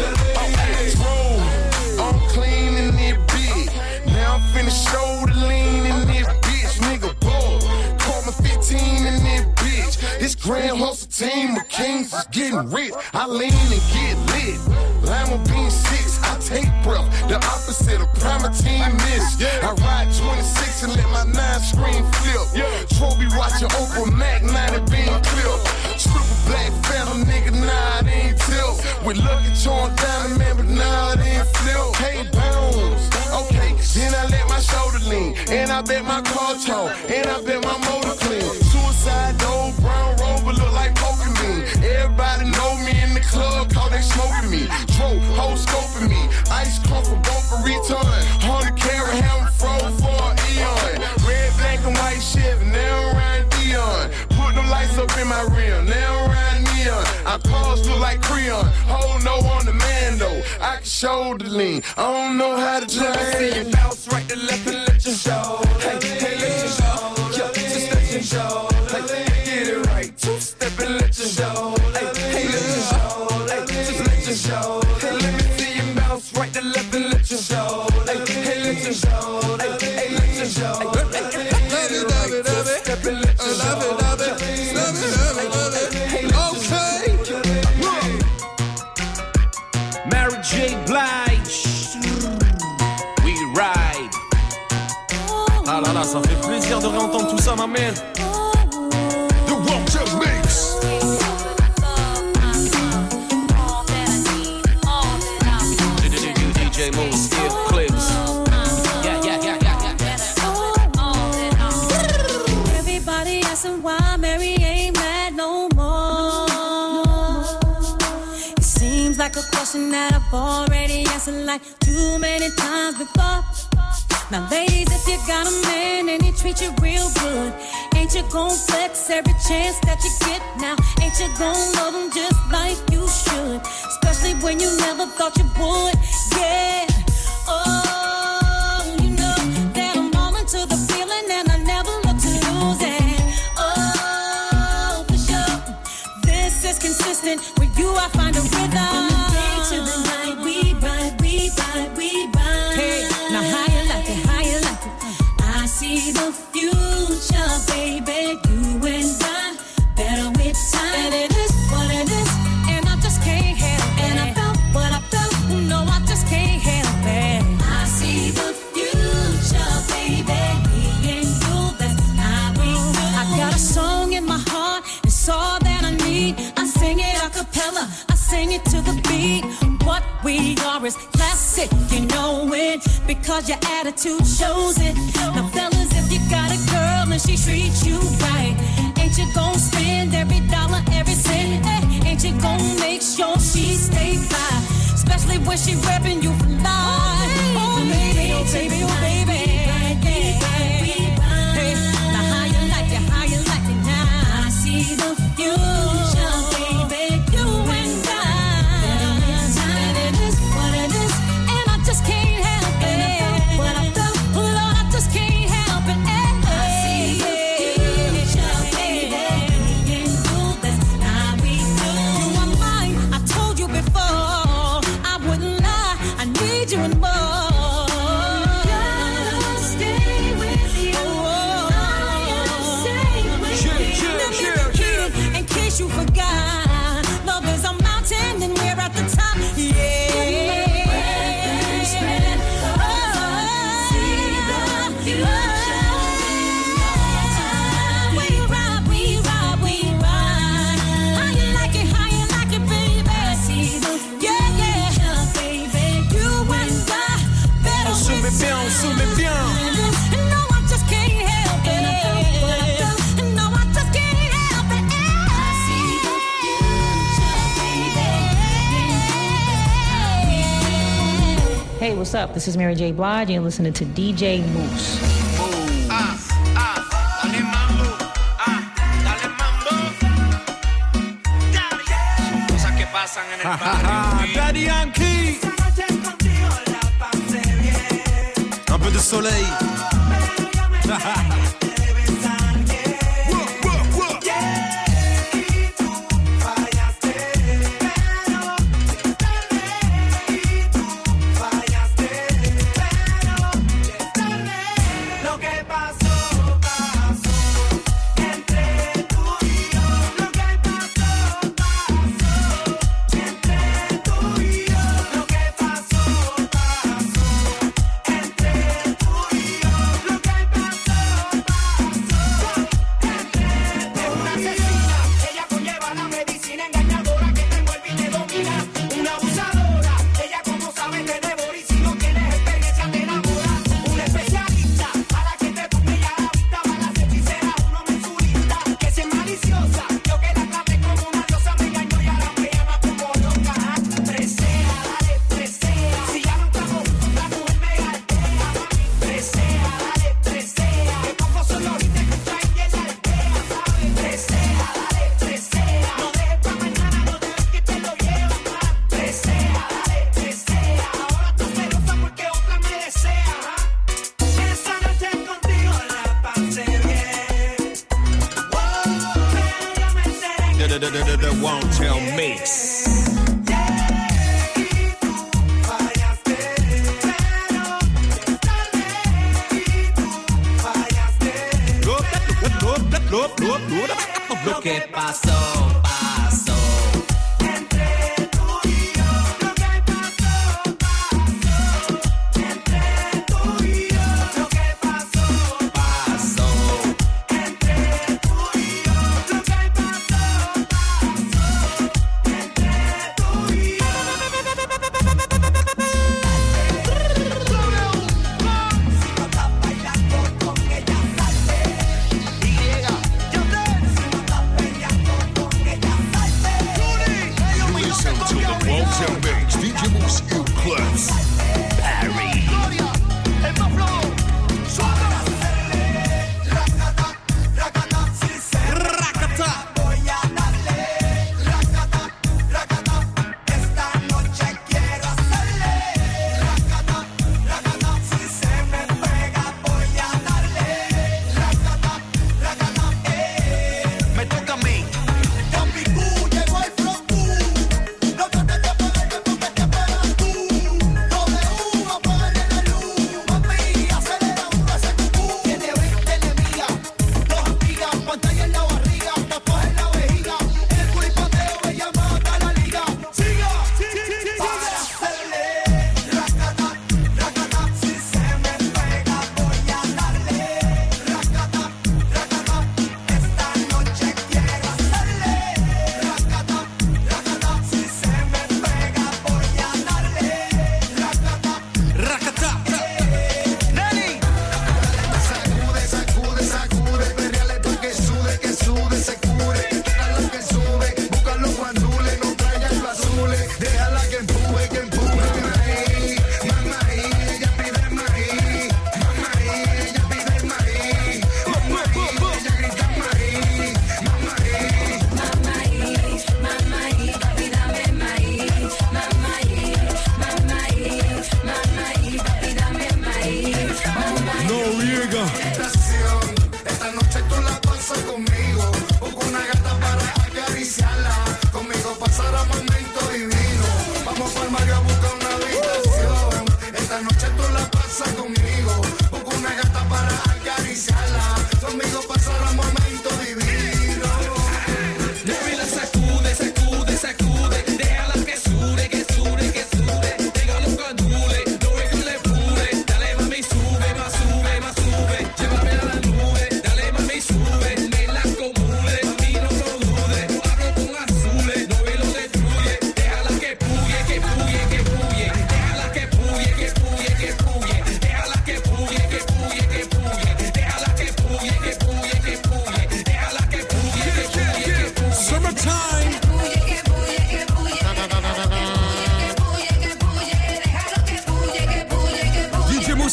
Roll. I'm clean in it big. Now I'm finna show the lean in it bitch. Nigga, bull. Call me 15 in it bitch. This grand hustle team of kings is getting rich. I lean and get lit. Lima bean 6, I take breath. The opposite of Primatine miss. I ride 26 and let my 9 screen flip. Trophy watching Oprah Mac, 90 bean clip. Super black phantom nigga, nah, it ain't tilt. With Lucky Charm diamond man, but nah, it ain't flip. Hey, bounce. Okay, then I let my shoulder lean. And I bet my car tall. And I bet my motor clean. Suicide door, brown rover look like Pokemon. Everybody know me in the club, cause they smoking me. Tro, whole scoping me. Ice crump for both for return. 100 carat hammer froze for an eon. Red, black, and white Chevy, now I'm riding Dion. Put them lights up in my rear, now I'm riding neon. Our cars look like Creon. Hold no on the man though. I can show the lean. I don't know how to drive. Let me see you bounce right to left and let you show. Hey, let you show. Just let you show. Get it right. Two-step and let you show. Hey, let you show. Just let you show. Let me see you bounce right to left and let you show. Hey, let you show. Hey, let you show. Step and let you show. Mary J. Blige. We ride. Ah là là, ça fait plaisir de réentendre tout ça, ma man. The One Till Mix. DJ Moose, Steel Clips. Everybody asking why Mary ain't mad no more. It seems like a question that I've already answered like too many times before. Now ladies, if you got a man and he treats you real good, ain't you gon' flex every chance that you get now? Ain't you gon' love him just like you should? Especially when you never thought you would, yeah. Oh, you know that I'm all into the feeling and I never look to lose it. Oh, for sure, this is consistent. With you I find a rhythm. From the day to the night, we ride, we ride, we ride. Hey, now how you like it, how you like it? I see the future, baby, you and I, better with time. And it is what it is, and I just can't help it. And I felt what I felt, no, I just can't help it. I we are is classic, you know it, because your attitude shows it. Now fellas, if you got a girl and she treats you right, ain't you gon' spend every dollar, every cent? Ain't you gon' make sure she stay fly, especially when she reppin' you for life? Oh baby, oh baby, oh baby. Hey, now how you like it now? I see the future, baby, you and I. It is what it is, and I just can't help it. What I felt, Lord, I just can't help it. I see the future, baby, you do this, how we do. You are mine, I told you before, I wouldn't lie, I need you and more. You forgot, love is a mountain and we're at the top. Yeah. We ride. How you like it, baby? Yeah, baby. You and I better. On se met bien, on se met bien. No, I just can't help it. No, I just can't help it. Hey, what's up? This is Mary J. Blige, and you're listening to DJ Moose. Dale mambo, dale mambo. Cosas que pasan en el barrio. Daddy Yankee. Un peu de soleil. The Won't Tell Mix. Lo que pasó, pasó.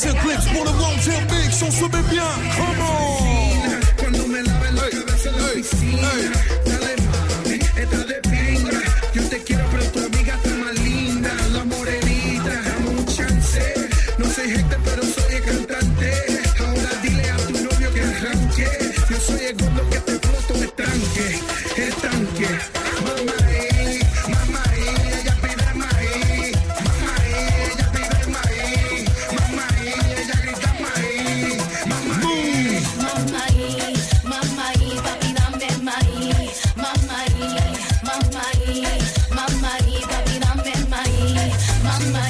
Moose Eclipse pour le Wanted Mix, on se met bien, come on. Cuando me laves la cabeza en la piscina, dale mami, está de pinga. Yo te quiero pero tu amiga está más linda, la morenita, dame un chance. No soy gente pero soy el cantante. Ahora dile a tu novio que arranque. Yo soy el gordo que te floto el tanque. Mamá, ella pide maíz. Mamá, ella pide maíz. Mamá, ella grita maíz. Mamá, papi, dame maíz. Mamá, papi, dame maíz. Mamá,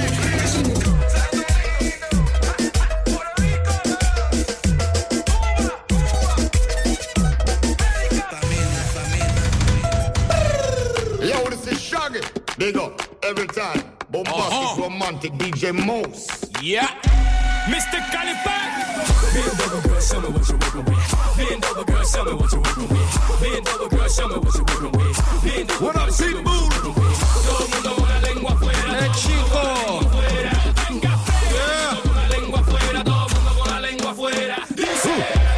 Yo, this is Shaggy. Big up every time. Bombastic, romantic DJ Moose. Yeah. Mr. Calipan. Bend over, girl, show me what you're working with. Bend over, girl, show me what you're working with. Bend over, girl, show me what you're working with. Bend over, girl, show me what you're working with. Todo el mundo con la lengua afuera. Chico. Yeah. Con la lengua afuera. Todo el mundo con la lengua afuera. Dice.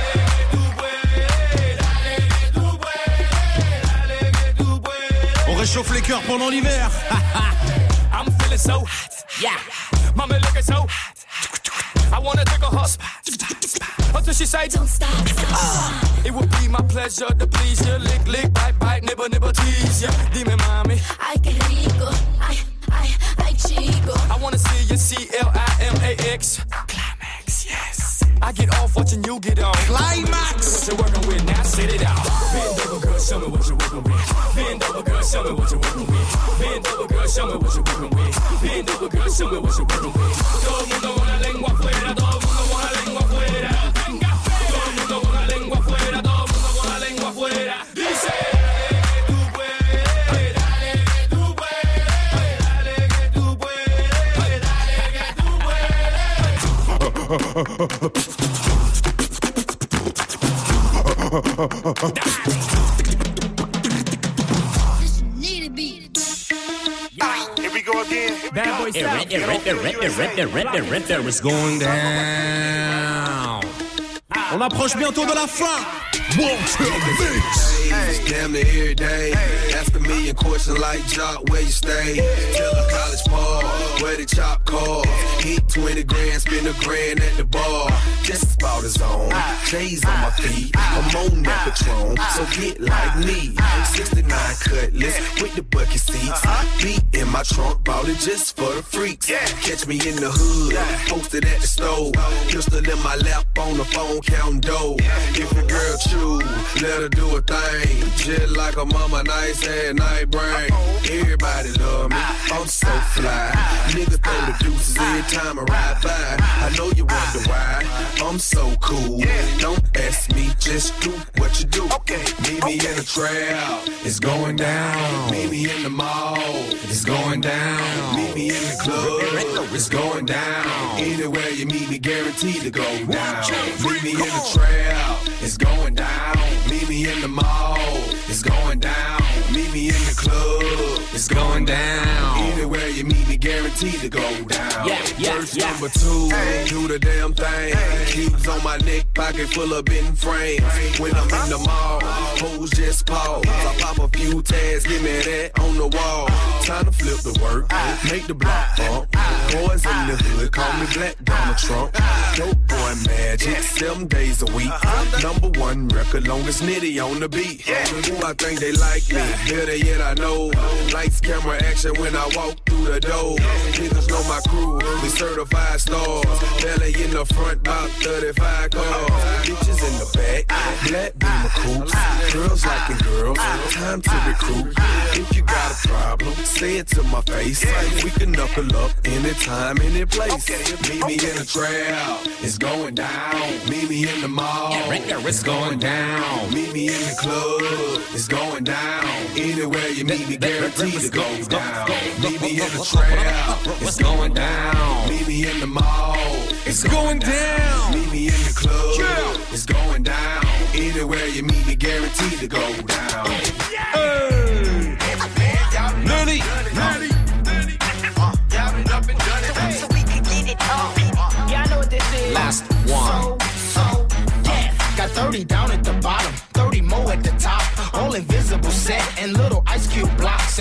On réchauffe les cœurs pendant l'hiver. I'm feeling so hot. Yeah. Mama looking so hot. I wanna take a hus until she say don't stop. It would be my pleasure to please you. Lick, lick, bite, bite, nibble, nibble, tease ya. Dime, mami. Ay, qué rico. Ay, chico. I wanna see you CLIMAX. Climax, yes. I get off watching you get on. Climax. What you working with? Now sit it out. Bend over, girl, show me what you working with. Bend over, girl, show me what you working with. Bend over, girl, show me what you working with. Bend over, girl, show me what you working with. Todo el mundo con la lengua afuera. Todo el mundo con la lengua afuera. Todo el mundo con la lengua afuera. Todo el mundo con la lengua afuera. Dice. Here we go again. Bad boy sound. There is going down. On approche bientôt de la fin. Wanted Mix. Damn near every day. Ask a million questions like Jock, where you stay? Tell a college ball, where the chop call. Hit 20 grand, spend $1 grand at the bar. Just about his own. J's on my feet, I'm on that Patron, so get like me. 69 Cutlass with the bucket seats. Beat in my trunk, bought it just for the freaks. Catch me in the hood, posted at the stove. Pistol in my lap on the phone, counting dough. If a girl choose, let her do a thing. Just like a mama, nice head, night brain. Everybody love me, I'm so fly. Niggas throw the deuces every time I ride by. I know you wonder why, I'm so cool. Don't ask me, just do what you do. Meet me in the trap, it's going down. Meet me in the mall, it's going down. Meet me in the club, it's going down. Anywhere you meet me, guaranteed to go down. Meet me in the trap, it's going down. Meet me in the mall, it's going down. Meet me in the club, it's going down. Anywhere you meet me, guaranteed to go down. Verse number 2, do the damn thing. Keeps on my neck, pocket full of bent frames. When I'm in the mall, hoes just pause. I pop a few tags, give me that on the wall. Time to flip the work, make the block bump. Boys in the hood, call me Black Donald Trump. Dope boy magic, 7 days a week. Number 1 record, longest nitty on the beat. Who I think they like me, better yet I know. Lights, camera, action when I walk through the door. Niggas know my crew, we certified stars. Belly in the front, about 35 cars. Bitches in the back, black beamer coops. Girls liking girls, time to recruit. If you got a problem, say it to my face. We can knuckle up anytime, any place. Meet me in the trap, it's going down. Meet me in the mall, it's going down. Meet me in the club, it's going down. Anywhere you meet me, guaranteed to go down. Meet me in the trap, it's going down. Meet me in the mall, it's going down. Meet me in the club, it's going down. Anywhere you meet me, guaranteed to go down. Hey. Nelly. So we can get it on. Y'all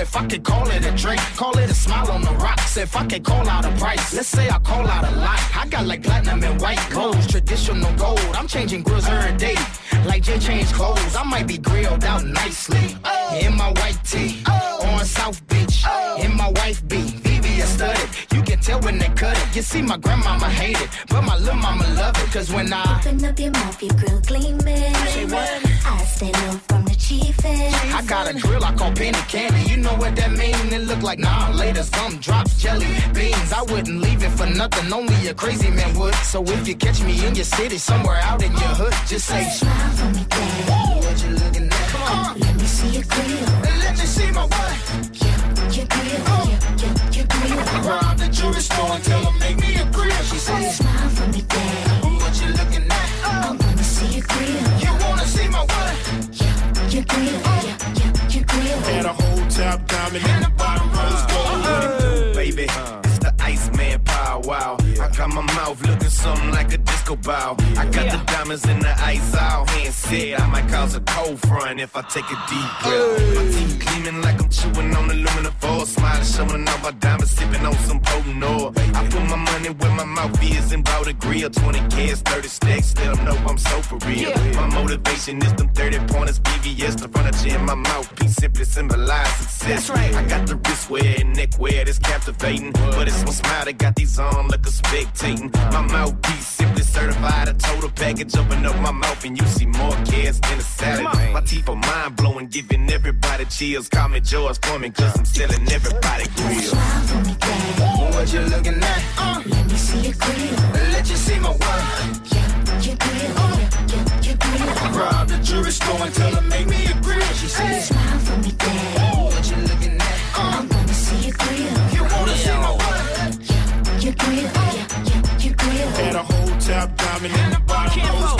If I could call it a drink, call it a smile on the rocks. If I could call out a price, let's say I call out a lot. I got like platinum and white clothes, traditional gold. I'm changing grills every day, like Jay changed clothes. I might be grilled out nicely in my white tee on South Beach. In my wife beat, VVS studded. You can tell when they cut it. You see, my grandmama hate it, but my little mama love it. Cause when I open up your mouth, your grill gleaming. Say what? I stay low from the chiefin'. I got a grill I call penny candy. You know what that mean? It look like laters, gum drops, jelly beans. I wouldn't leave it for nothing, only a crazy man would. So if you catch me in your city, somewhere out in your hood, just say smile for me, daddy. What you looking at? Come on, let me see your grill. And let me see my what? Your grill, your grill. I robbed the jewelry store and tell them make me a grill. She said smile for me, daddy. What you looking at? I wanna see your grill. You wanna see my what? Your grill, your grill. And a whole top diamond and the bottom rose gold. Baby, it's the Iceman power wow. I got my mouth looking something like a disco ball. I got the diamonds in the ice out. Hand said I might cause a cold front if I take a deep breath. My teeth gleaming like I'm chewing on aluminum foil. Smiling, showing off my diamonds, sipping on some potent oil. I put my money where my mouth is and bought a grill. 20 kids, 30 stacks, let them know I'm so for real. My motivation is them 30 pointers, BVS, the furniture in my mouthpiece simply symbolize success. I got the wrist wear and neck wear that's captivating, but it's my smile that got these arms like a spectating. My mouthpiece simply certified, a total package. Open up my mouth and you see more kids than a salad. My teeth are mind blowing, giving everybody chills. Call me George Foreman, cause I'm selling everybody grills. What you looking at? Let me see your grill. Let you see my what? Your grill, your grill. I robbed the jewelry store and tell them make me a grill. She said smile for me, daddy. What you looking at? I wanna see your grill. You wanna see my what? Your grill, your grill. And a whole top diamond and the bottom rose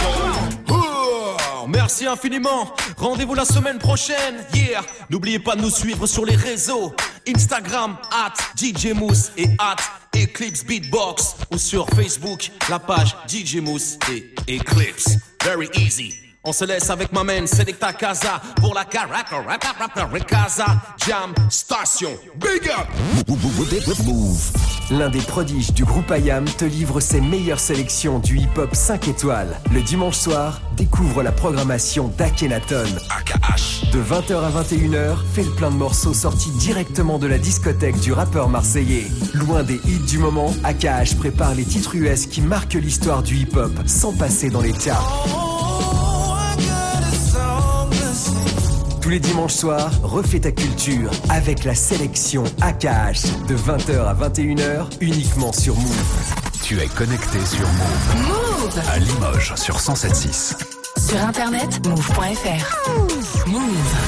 gold. Merci infiniment. Rendez-vous la semaine prochaine. Yeah. N'oubliez pas de nous suivre sur les réseaux Instagram @DJMousse et @Eclipse Beatbox, ou sur Facebook la page DJ Mousse et Eclipse. Very easy. On se laisse avec ma man Selecta Casa pour la Casa Jam Station. Big up. Move. L'un des prodiges du groupe IAM te livre ses meilleures sélections du hip-hop 5 étoiles. Le dimanche soir, découvre la programmation d'Akhenaton. De 20h à 21h, fais le plein de morceaux sortis directement de la discothèque du rappeur marseillais. Loin des hits du moment, AKH prépare les titres US qui marquent l'histoire du hip-hop sans passer dans les charts. Tous les dimanches soirs, refais ta culture avec la sélection AKH de 20h à 21h uniquement sur Move. Tu es connecté sur Move. Move à Limoges sur 107.6. Sur internet, move.fr. Move.